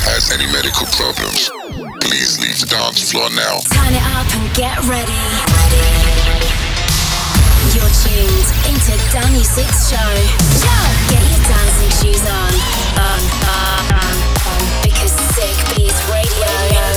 has any medical problems, please leave the dance floor now. Turn it up and get ready. You're tuned into Danny Six Show. Get your dancing shoes on. Because Sick Beats Radio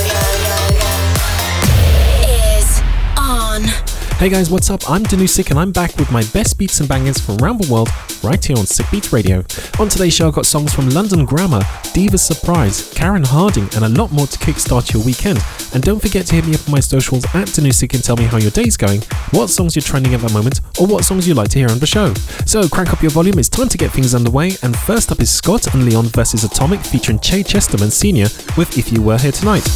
is on. Hey guys, what's up? I'm Danusik and I'm back with my best beats and bangers from around the world right here on Sick Beats Radio. On today's show, I've got songs from London Grammar, Diva Surprise, Karen Harding, and a lot more to kickstart your weekend. And don't forget to hit me up on my socials at Danusik and tell me how your day's going, what songs you're trending at the moment, or what songs you'd like to hear on the show. So crank up your volume, it's time to get things underway, and first up is Scott and Leon vs Atomic featuring Che Chesterman Sr. with If You Were Here Tonight.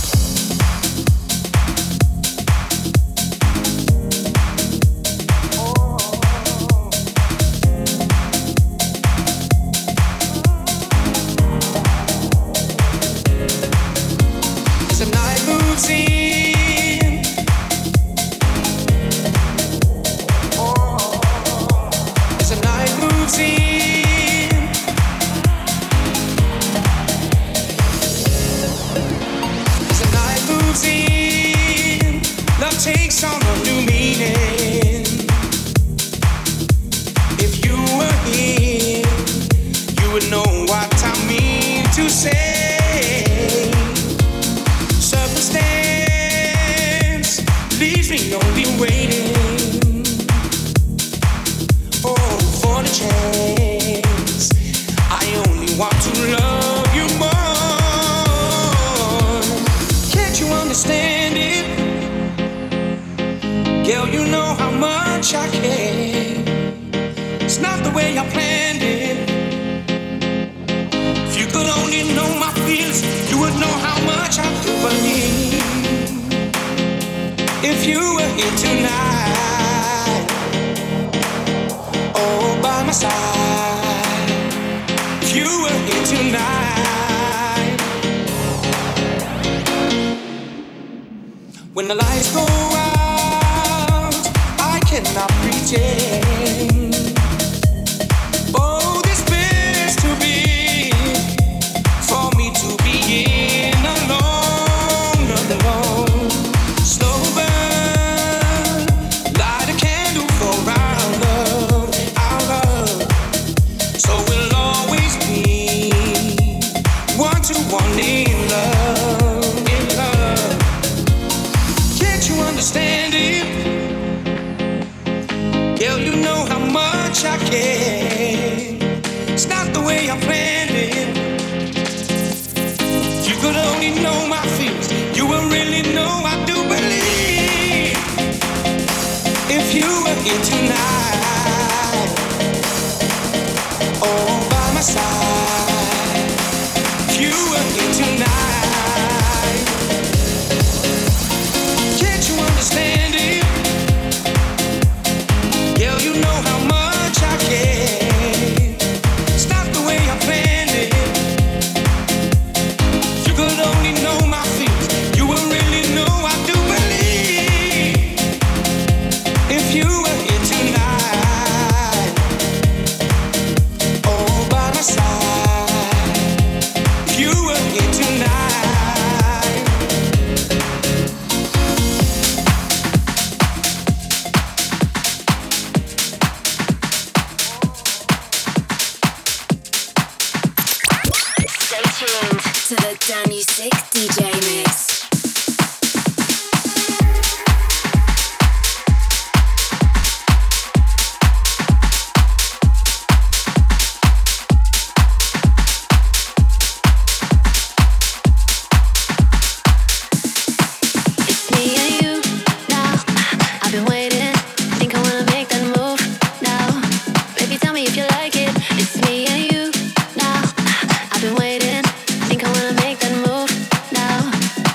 When the lights go out, I cannot pretend. Oh, this place to be, for me to be in alone. Slow burn, light a candle for our love. So we'll always be one in love. Understand it, girl, you know how much I care. It's not the way I planned it. If you could only know my feelings, you will really know I do believe. If you were here tonight, all by my side. If you were here tonight, understand it, girl, you know how much I care. It's not the way I planned it. If you could only know my feelings, you will really know I do believe. If you were here tonight, all by my side. If you were here tonight. To the Danny Sick DJ Mix. I've been waiting, think I wanna make that move now.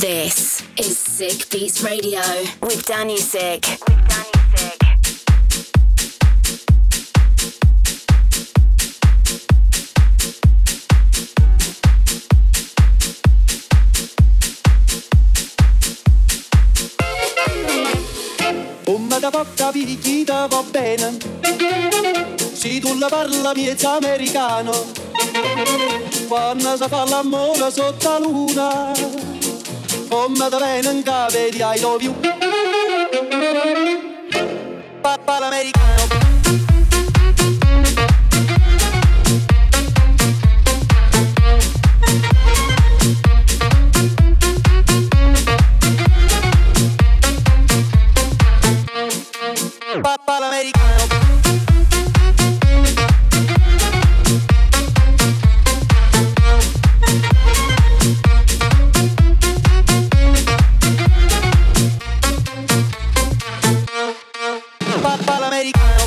This is Sick Beats Radio with Danny Sick. Come da porta picchita va bene, se tu la parla miezza americano, quando si fa l'amore sotto la luna, come da bene in capo di I love you, papà l'americano. Papà l'americano. Papà l'americano.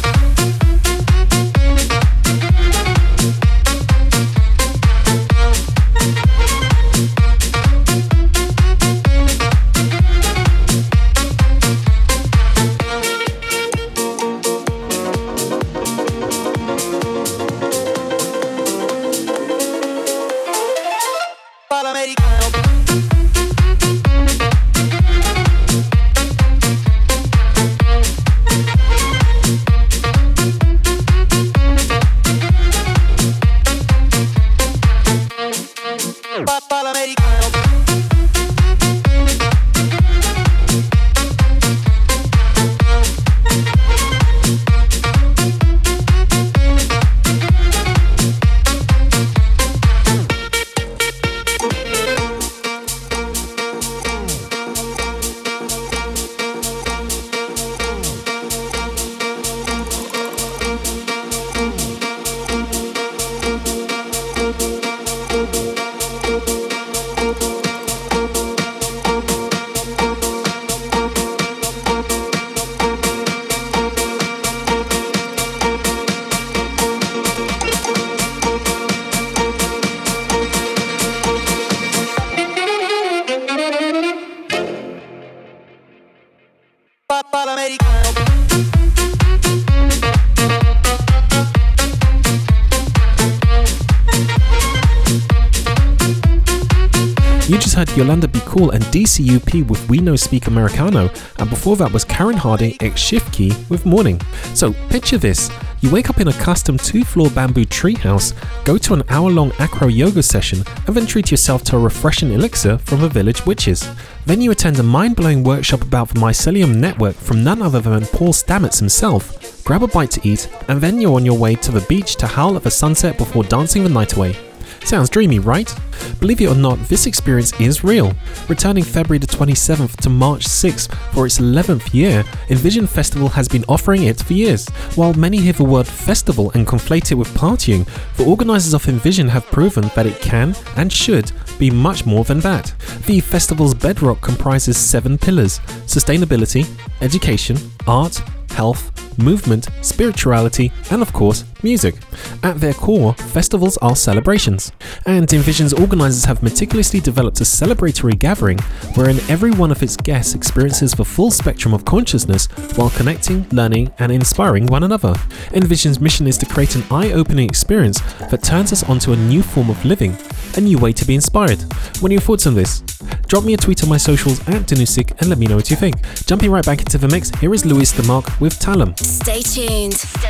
You just heard Yolanda Be Cool and DCUP with We No Speak Americano, and before that was Karen Harding x Shift Key with Morning. So picture this. You wake up in a custom 2-floor bamboo treehouse, go to an hour-long acro yoga session, and then treat yourself to a refreshing elixir from the Village Witches. Then you attend a mind-blowing workshop about the mycelium network from none other than Paul Stamets himself, grab a bite to eat, and then you're on your way to the beach to howl at the sunset before dancing the night away. Sounds dreamy, right? Believe it or not, this experience is real. Returning February the 27th to March 6th for its 11th year, Envision Festival has been offering it for years. While many hear the word festival and conflate it with partying, the organisers of Envision have proven that it can and should be much more than that. The festival's bedrock comprises 7 pillars: sustainability, education, art, health, movement, spirituality, and of course, music. At their core, festivals are celebrations. And Envision's organisers have meticulously developed a celebratory gathering wherein every one of its guests experiences the full spectrum of consciousness while connecting, learning, and inspiring one another. Envision's mission is to create an eye-opening experience that turns us onto a new form of living, a new way to be inspired. What are your thoughts on this? Drop me a tweet on my socials at Danusik and let me know what you think. Jumping right back into the mix, here is Luis DeMarc with Talum. Stay tuned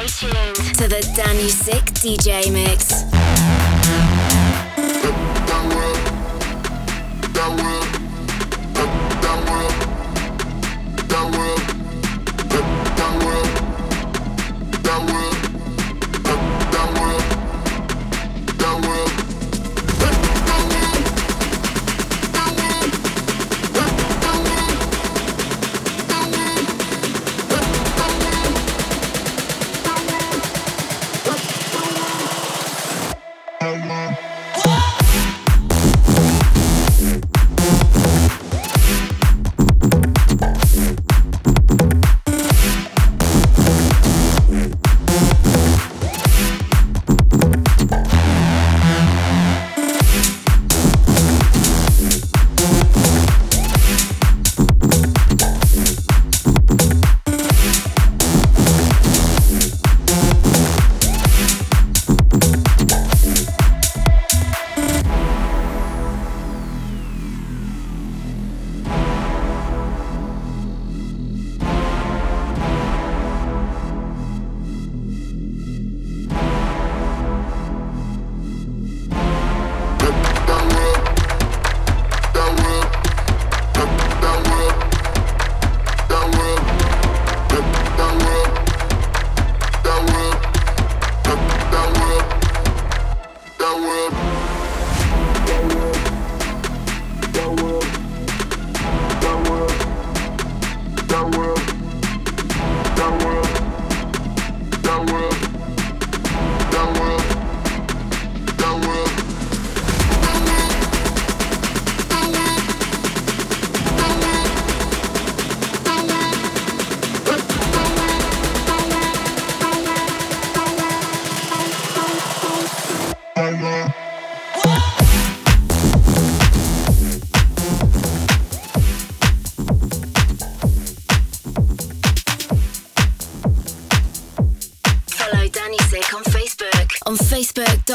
to the Danny Sick DJ mix.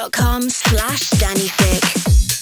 facebook.com/DannyThick.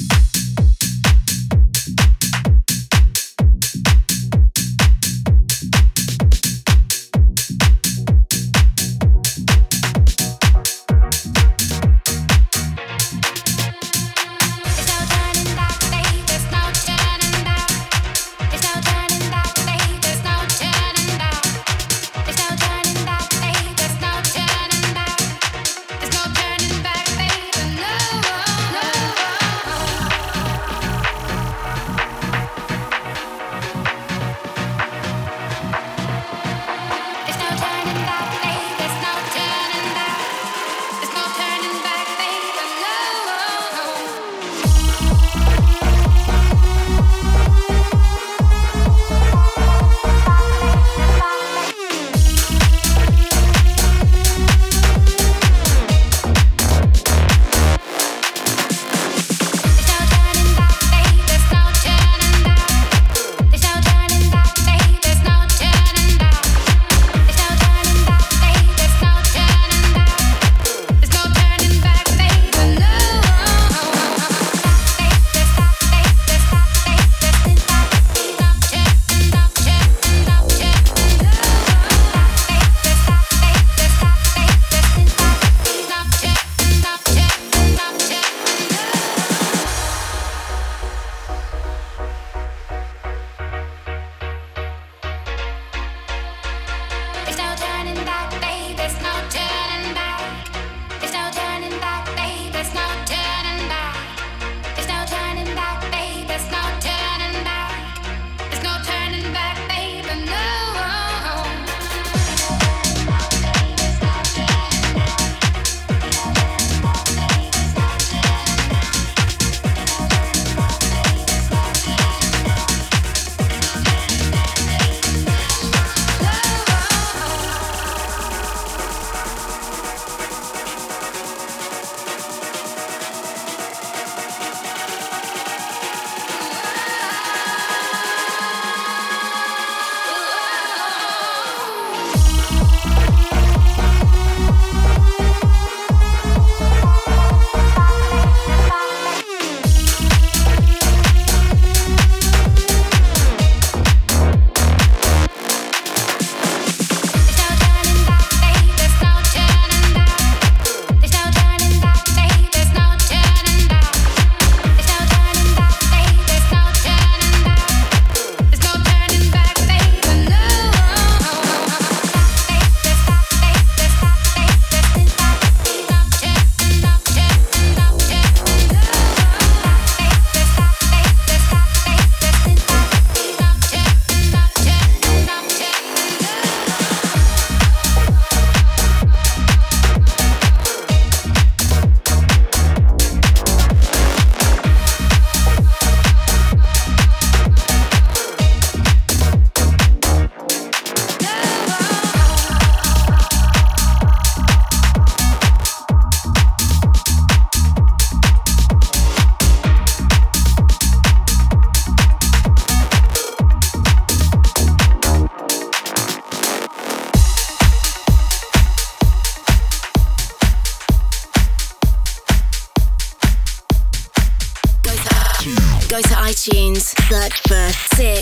Go to iTunes, search for Sick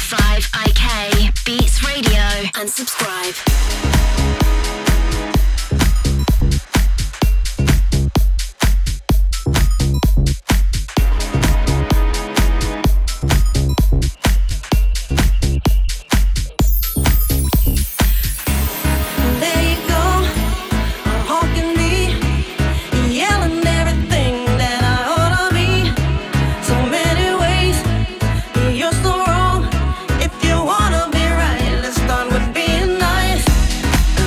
5IK Beats Radio and subscribe. You're so wrong if you wanna be right. Let's start with being nice.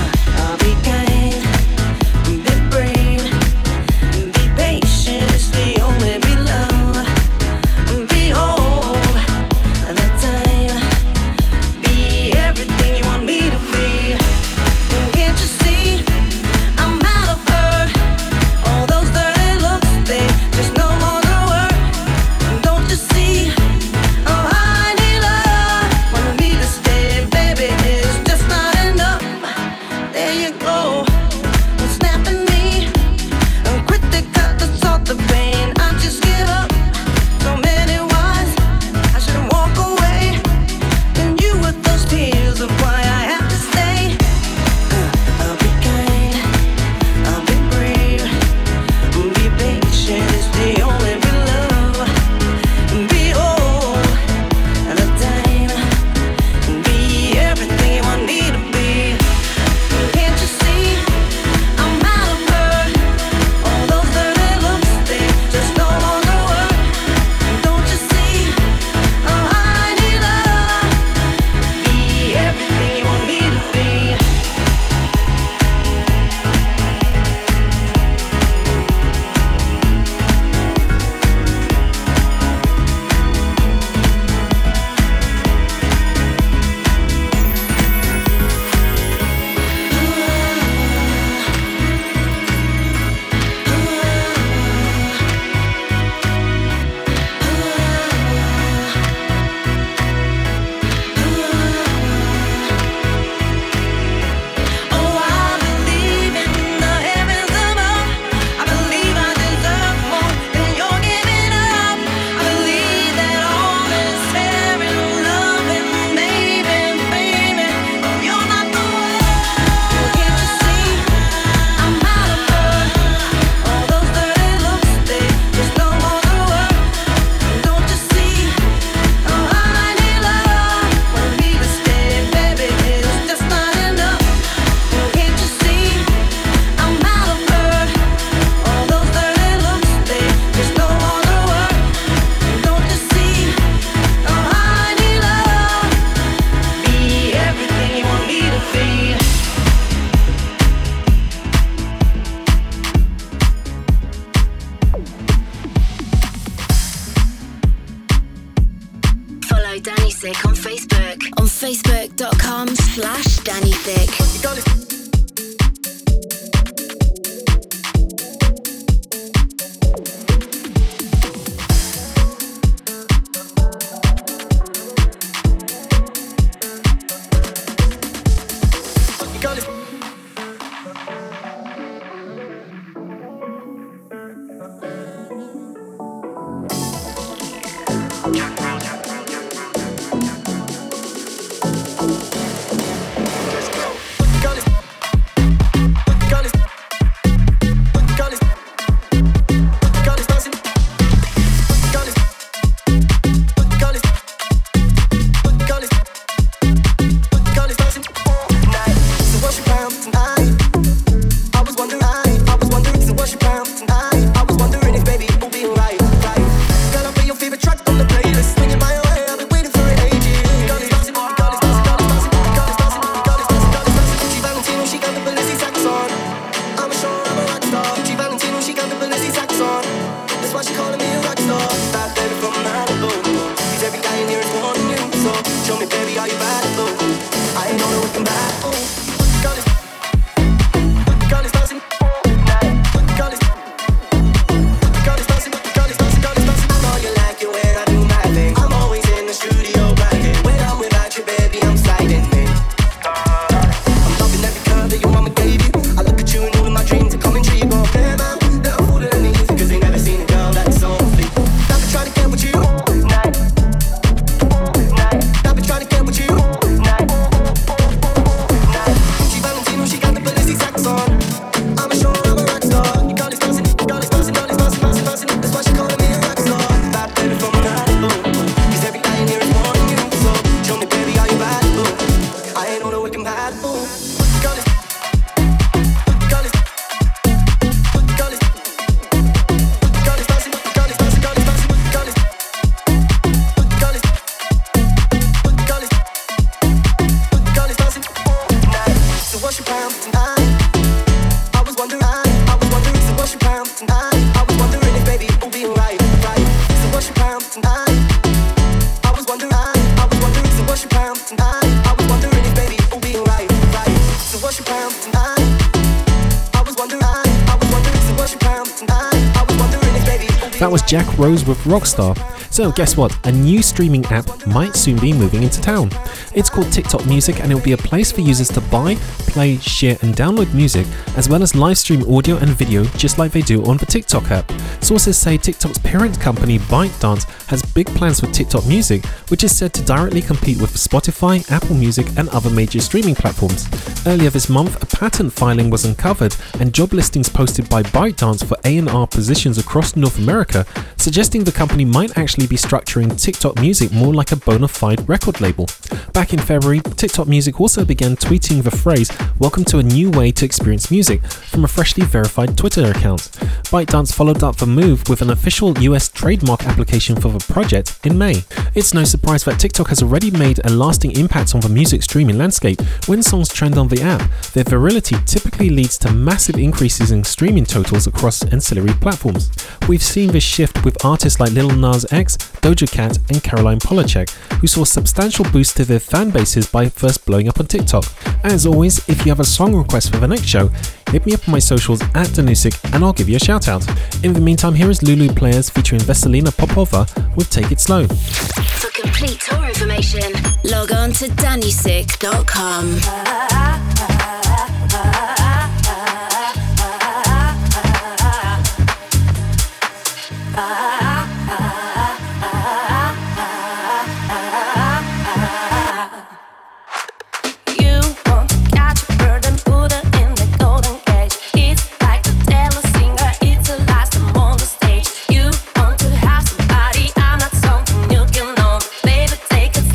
follow Danny Sick on Facebook on facebook.com/Danny Sick. That was Jack Rose with Rockstar. So guess what? A new streaming app might soon be moving into town. It's called TikTok Music and it will be a place for users to buy, play, share and download music as well as live stream audio and video just like they do on the TikTok app. Sources say TikTok's parent company ByteDance has big plans for TikTok Music, which is said to directly compete with Spotify, Apple Music and other major streaming platforms. Earlier this month, a patent filing was uncovered and job listings posted by ByteDance for A&R positions across North America, suggesting the company might actually be structuring TikTok Music more like a bona fide record label. Back in February, TikTok Music also began tweeting the phrase "Welcome to a new way to experience music" from a freshly verified Twitter account. ByteDance followed up the move with an official US trademark application for the project in May. It's no surprise that TikTok has already made a lasting impact on the music streaming landscape. When songs trend on the app, their virality typically leads to massive increases in streaming totals across ancillary platforms. We've seen this shift with artists like Lil Nas X, Doja Cat and Caroline Polachek, who saw substantial boosts to their fan bases by first blowing up on TikTok. As always, if you have a song request for the next show, hit me up on my socials at Danusik and I'll give you a shout out. In the meantime, here is Lulu Players featuring Veselina Popova with Take It Slow. For complete tour information, log on to danusik.com.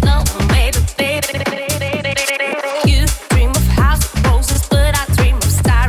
You dream of house of roses, but I dream of stars.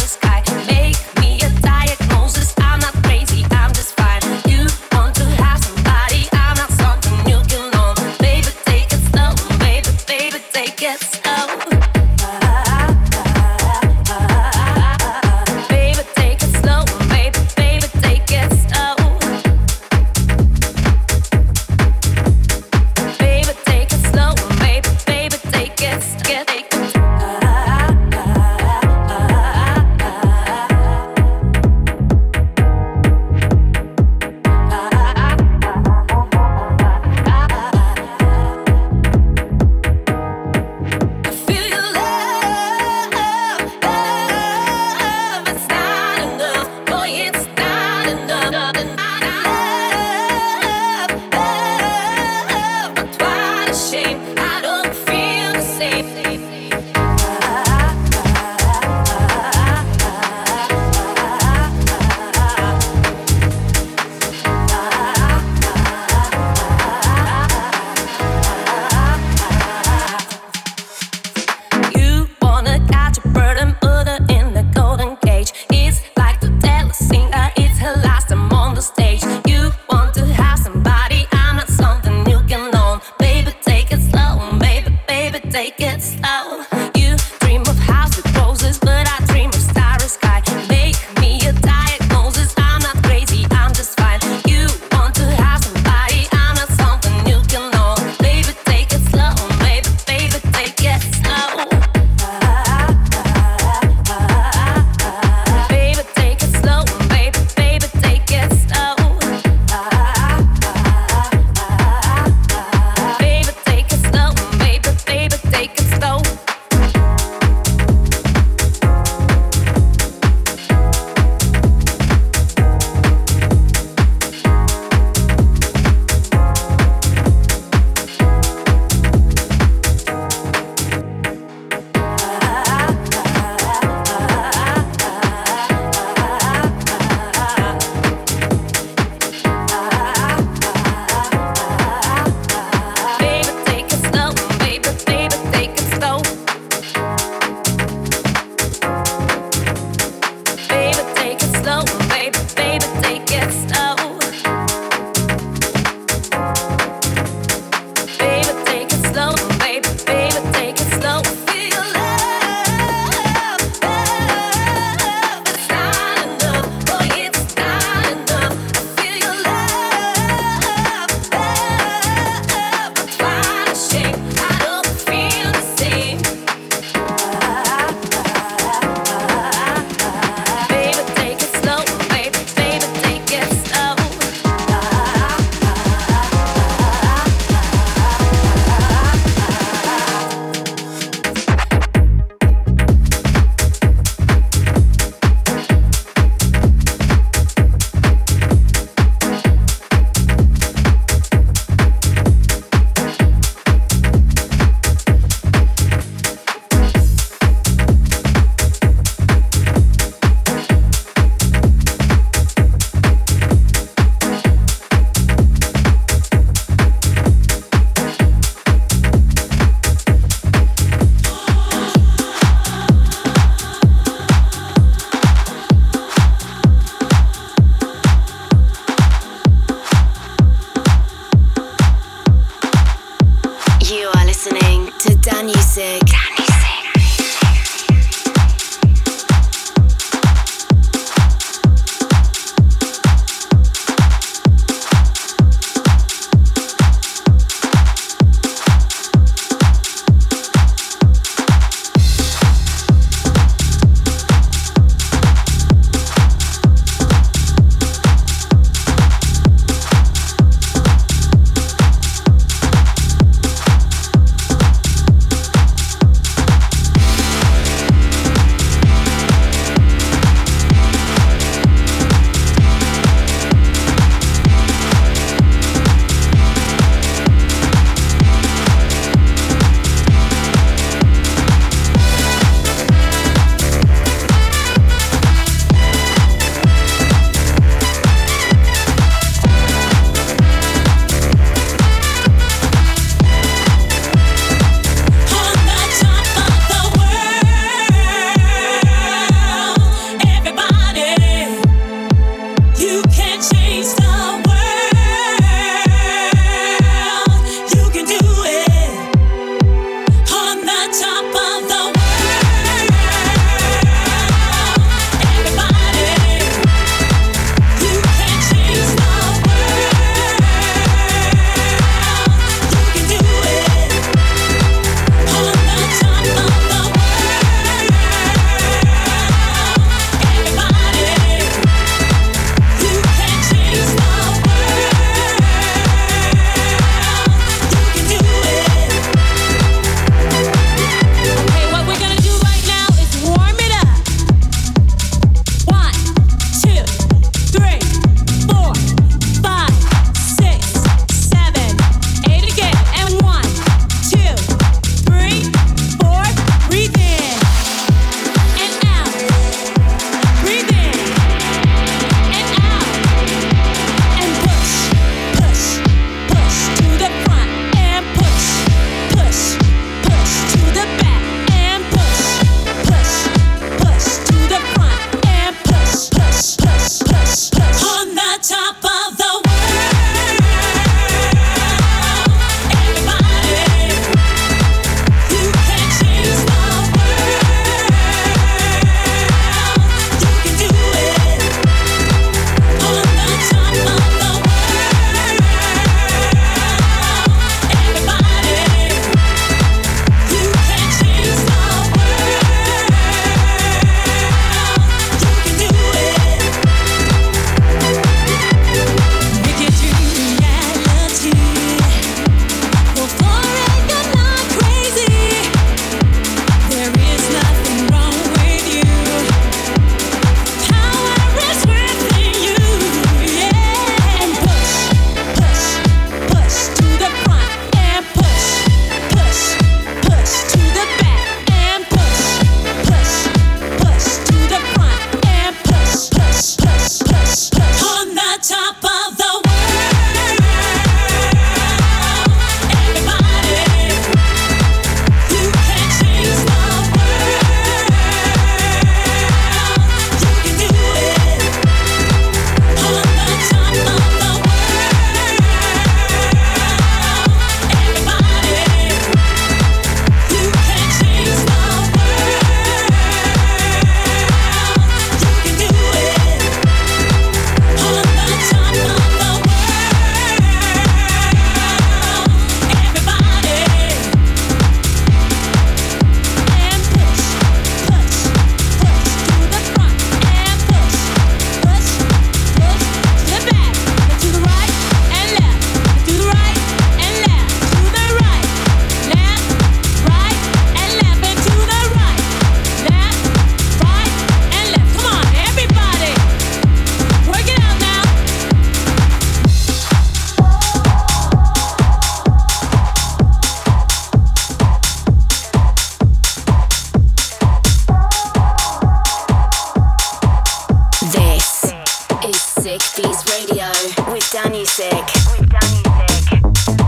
Sick. With Danny Sick.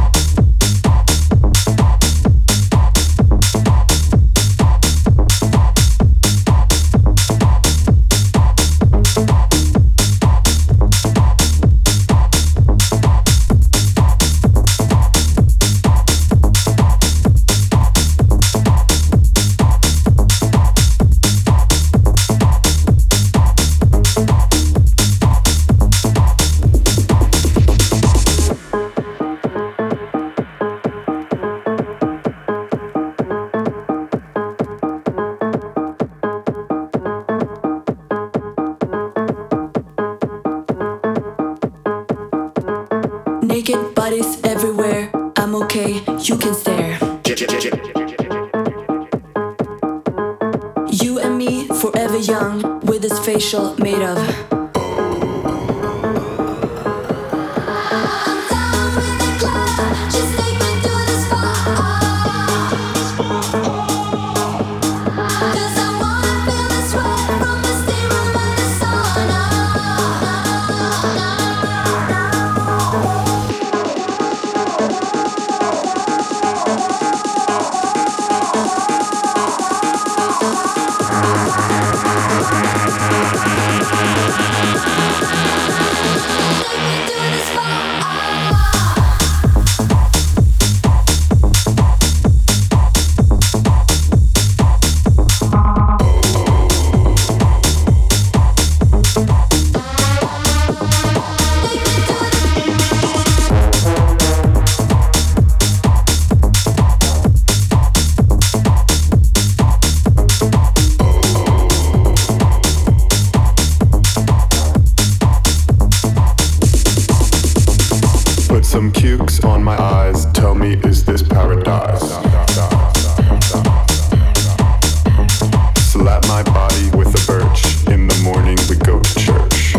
Naked bodies everywhere. I'm okay, you can stare. You and me, forever young, with this facial made of. Some cukes on my eyes, tell me, is this paradise? Slap my body with a birch, in the morning we go to church.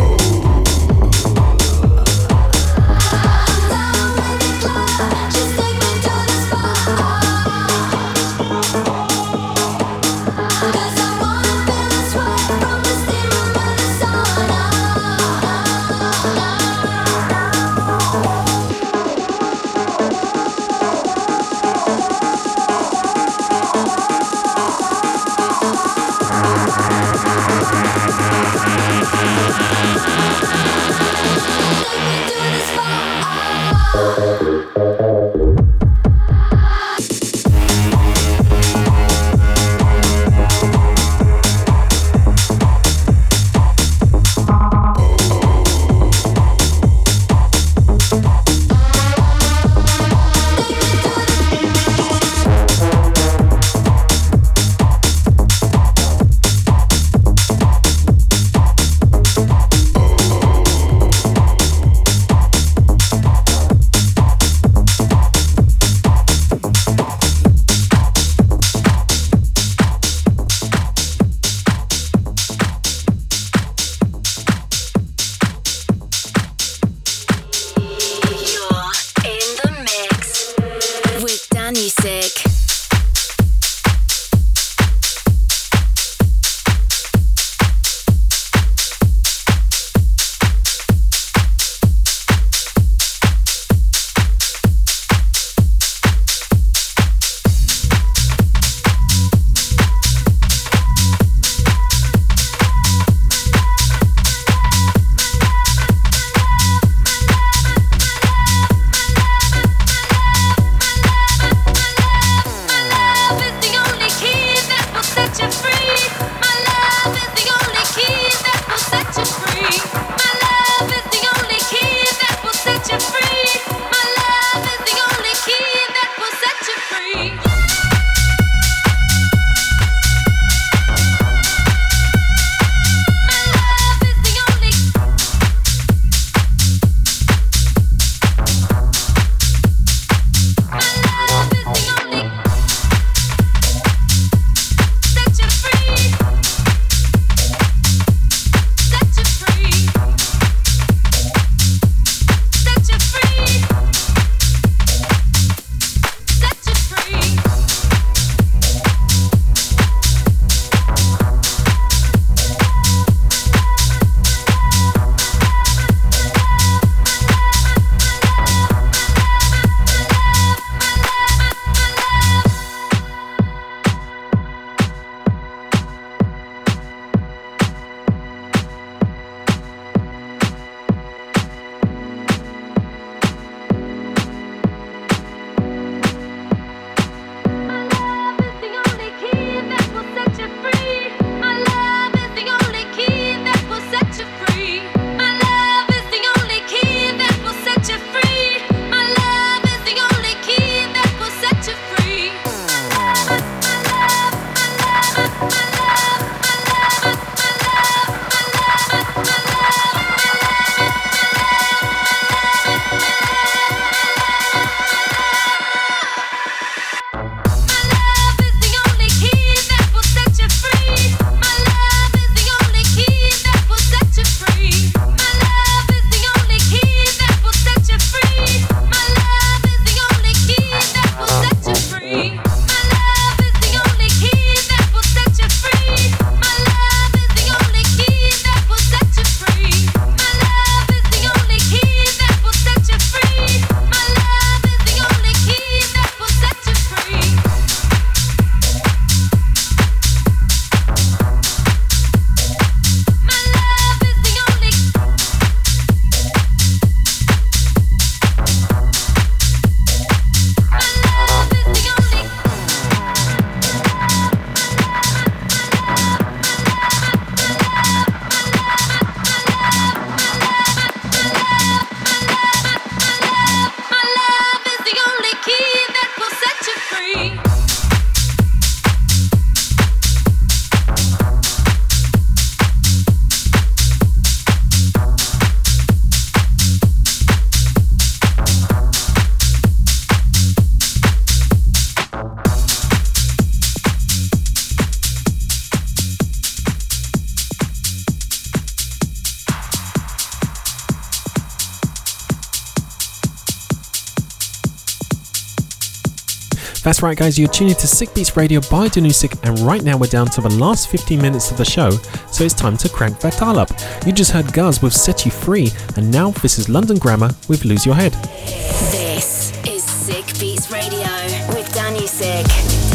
That's right, guys, you're tuning to Sick Beats Radio by Danusik, and right now we're down to the last 15 minutes of the show, so it's time to crank that dial up. You just heard Guz with Set You Free, and now this is London Grammar with Lose Your Head. This is Sick Beats Radio with Danusik.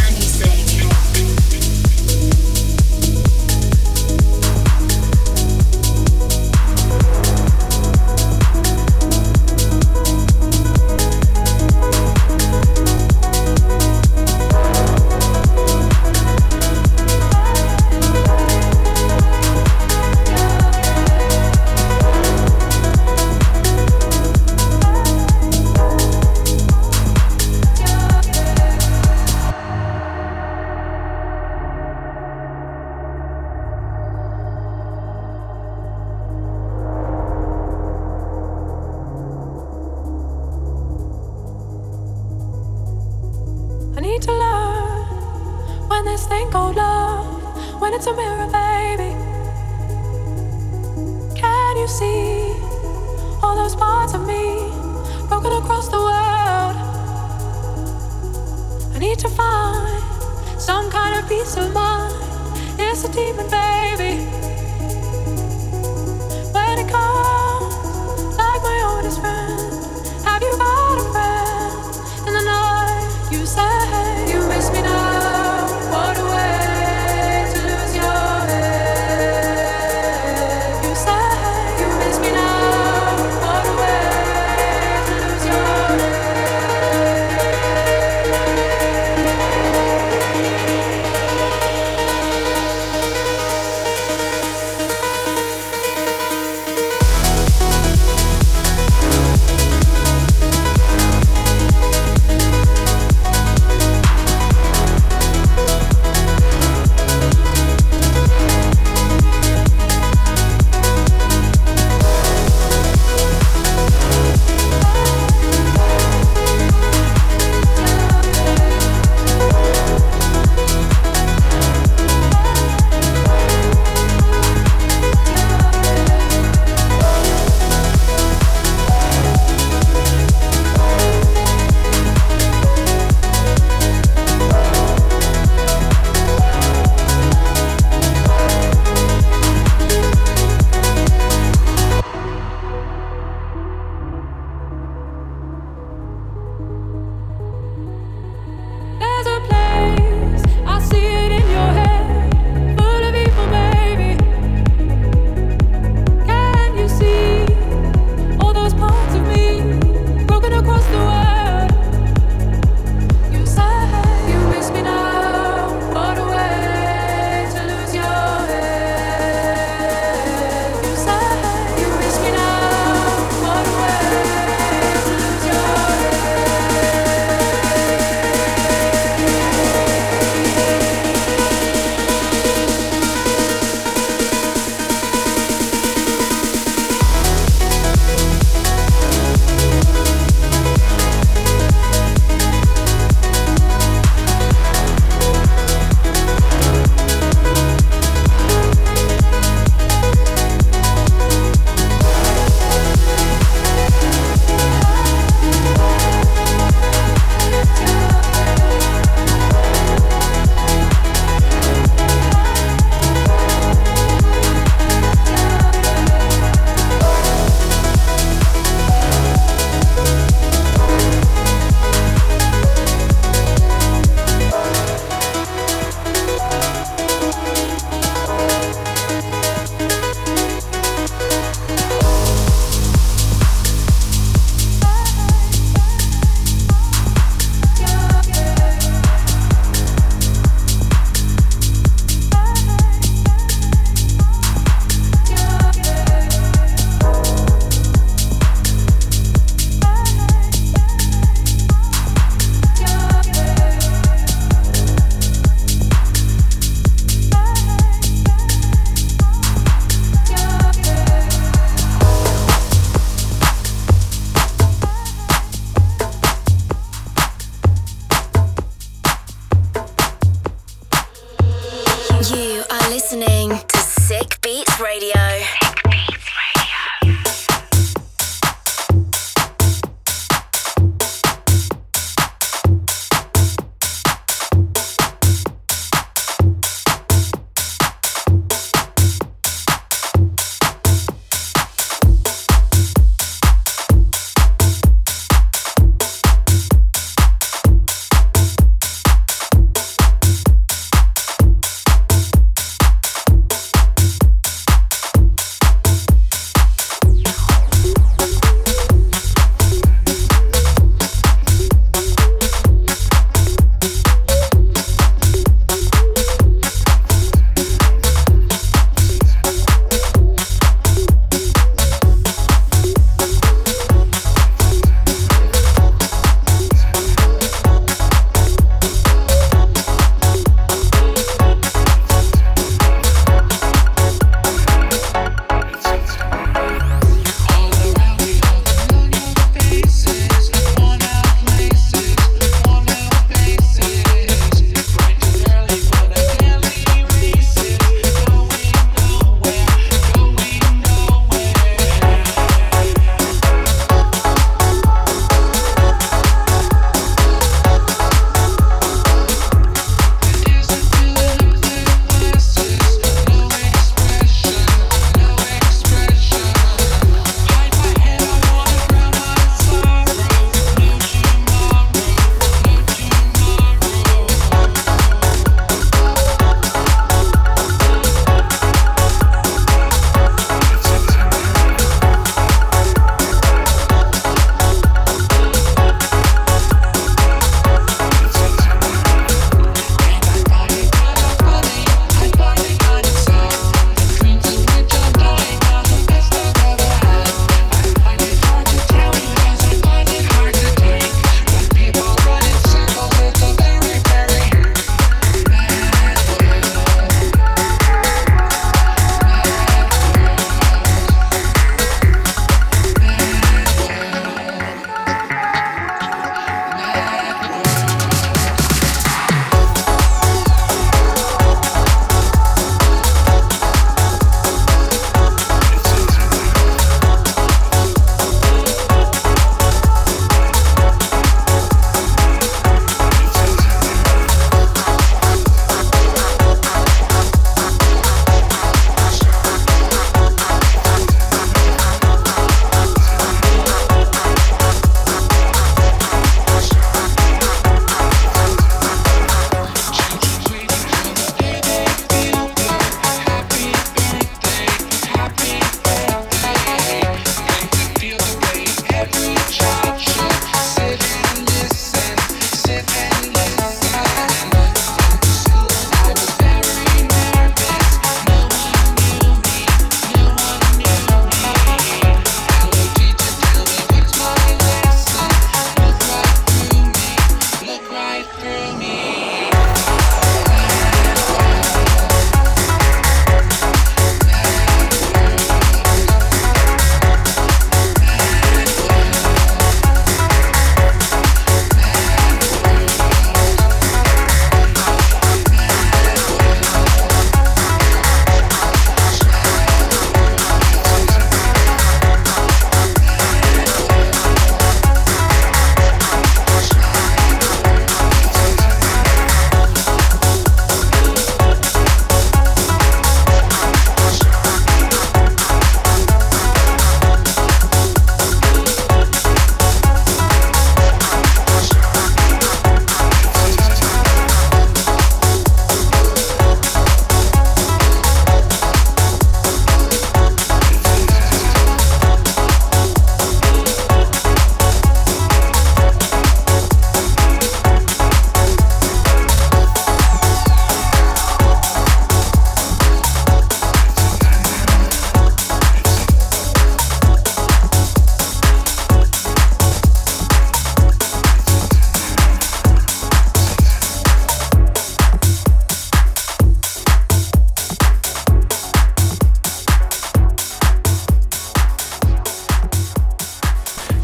It's a mirror, baby. Can you see all those parts of me broken across the world? I need to find some kind of peace of mind. It's a demon, baby. When it comes like my oldest friend, have you got a friend in the night? You say you miss me now. What a way.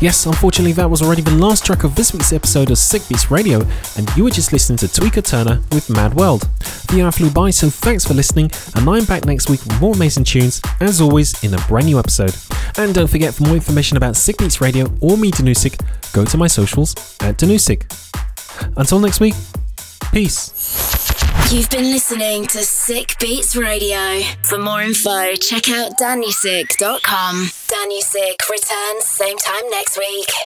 Yes, unfortunately that was already the last track of this week's episode of Sick Beats Radio, and you were just listening to Tweaker Turner with Mad World. The hour flew by, so thanks for listening, and I'm back next week with more amazing tunes, as always, in a brand new episode. And don't forget, for more information about Sick Beats Radio or me, Danusik, go to my socials at Danusik. Until next week, peace. You've been listening to Sick Beats Radio. For more info, check out danusik.com. Danusik returns same time next week.